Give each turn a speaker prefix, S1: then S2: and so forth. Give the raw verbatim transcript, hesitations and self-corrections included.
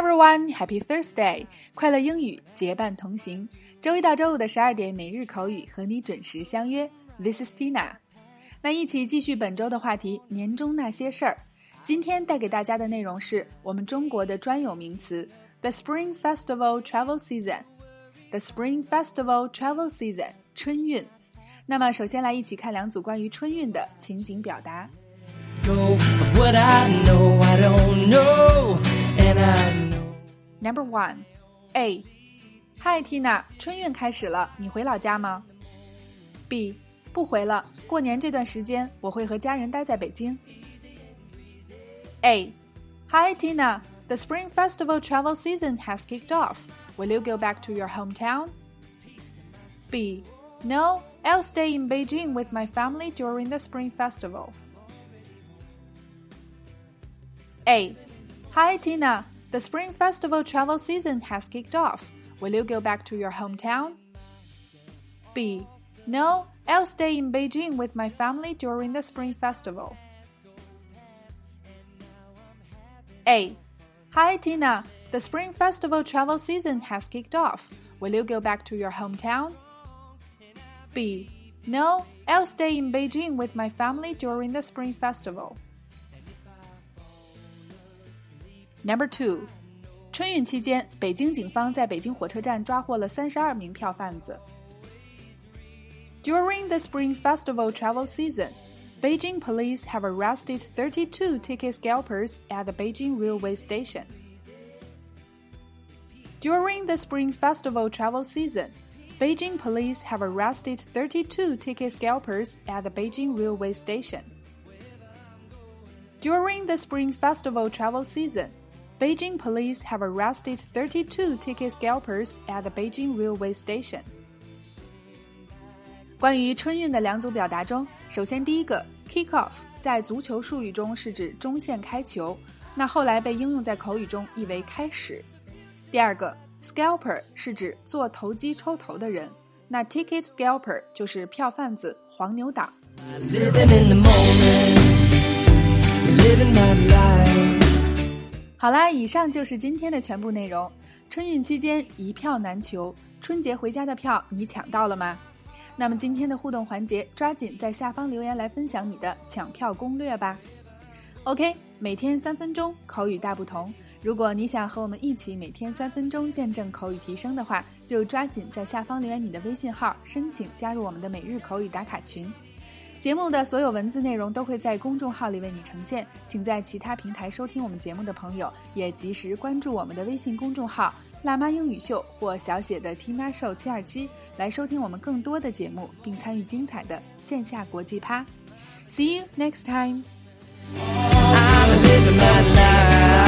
S1: everyone, Happy Thursday! 快乐英语结伴同行，周一到周五的十二点每日口语和你准时相约。This is Tina。那一起继续本周的话题，年终那些事儿。今天带给大家的内容是我们中国的专有名词 The Spring Festival Travel Season。The Spring Festival Travel Season， 春运。那么首先来一起看两组关于春运的情景表达。Number one, A. Hi Tina, 春运开始了，你回老家吗？ B. 不回了，过年这段时间我会和家人待在北京。A. Hi Tina, the Spring Festival travel season has kicked off. Will you go back to your hometown? B. No, I'll stay in Beijing with my family during the Spring Festival. A. Hi Tina, the Spring Festival travel season has kicked off. Will you go back to your hometown? B. No, I'll stay in Beijing with my family during the Spring Festival. A. Hi Tina, the Spring Festival travel season has kicked off. Will you go back to your hometown? B. No, I'll stay in Beijing with my family during the Spring Festival. Number two. 春运期间，北京警方在北京火车站抓获了三十二名票贩子。During the Spring Festival travel season, Beijing police have arrested thirty-two ticket scalpers at the Beijing railway station. During the Spring Festival travel season, Beijing police have arrested thirty-two ticket scalpers at the Beijing railway station. During the Spring Festival travel season, Beijing police have arrested thirty-two ticket scalpers at the Beijing railway station. 关于春运的两组表达中，首先第一个 kick off 在足球术语中是指中线开球，那后来被应用在口语中意为开始。第二个 scalper 是指做投机抽头的人，那 ticket scalper 就是票贩子、黄牛党。好啦，以上就是今天的全部内容。春运期间一票难求，春节回家的票你抢到了吗？那么今天的互动环节，抓紧在下方留言来分享你的抢票攻略吧。OK， 每天三分钟，口语大不同。如果你想和我们一起每天三分钟见证口语提升的话，就抓紧在下方留言你的微信号，申请加入我们的每日口语打卡群。节目的所有文字内容都会在公众号里为你呈现，请在其他平台收听我们节目的朋友也及时关注我们的微信公众号辣妈英语秀或小写的 Tina Show 七二七来收听我们更多的节目，并参与精彩的线下国际趴。See you next time. I'm living my life.